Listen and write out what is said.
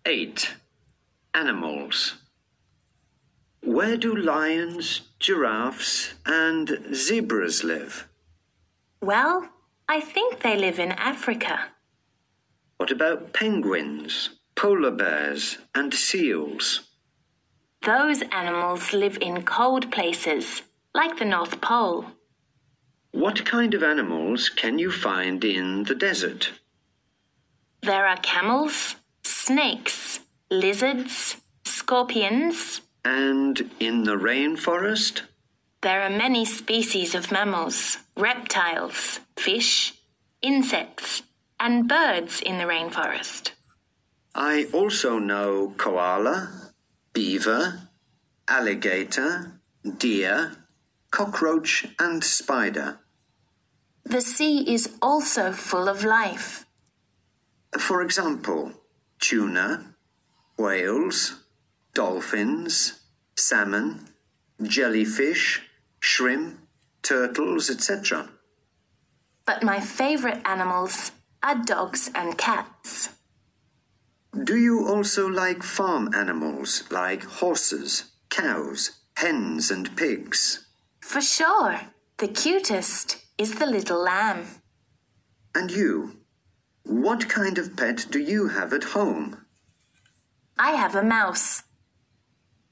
8. Animals. Where do lions, giraffes and zebras live? Well, I think they live in Africa. What about penguins, polar bears and seals? Those animals live in cold places, like the North Pole. What kind of animals can you find in the desert? There are camels, snakes, lizards, scorpions. And in the rainforest? There are many species of mammals, reptiles, fish, insects, and birds in the rainforest. I also know koala, beaver, alligator, deer, cockroach and spider. The sea is also full of life. For example, tuna, whales, dolphins, salmon, jellyfish, shrimp, turtles, etc. But my favorite animals are dogs and cats. Do you also like farm animals like horses, cows, hens and pigs? For sure, the cutest is the little lamb. And you? What kind of pet do you have at home? I have a mouse.